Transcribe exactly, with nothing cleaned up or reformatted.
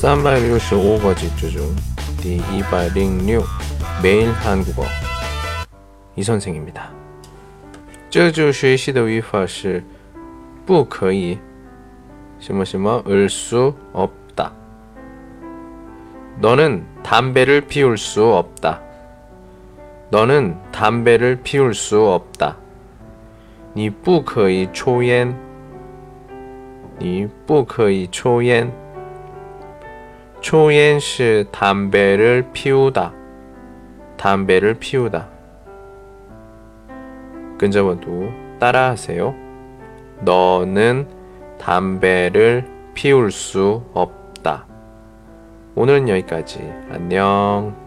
三百六十五个句子중第一百零六 매일 한국어 이 선생입니다. 这就学习的语法是不可以什么什么을 수 없다. 너는 담배를 피울 수 없다. 너는 담배를 피울 수 없다. 你不可以抽烟你不可以抽烟抽烟是 담배를 피우다. 담배를 피우다. 跟着我读 따라하세요. 너는 담배를 피울 수 없다. 오늘은 여기까지. 안녕.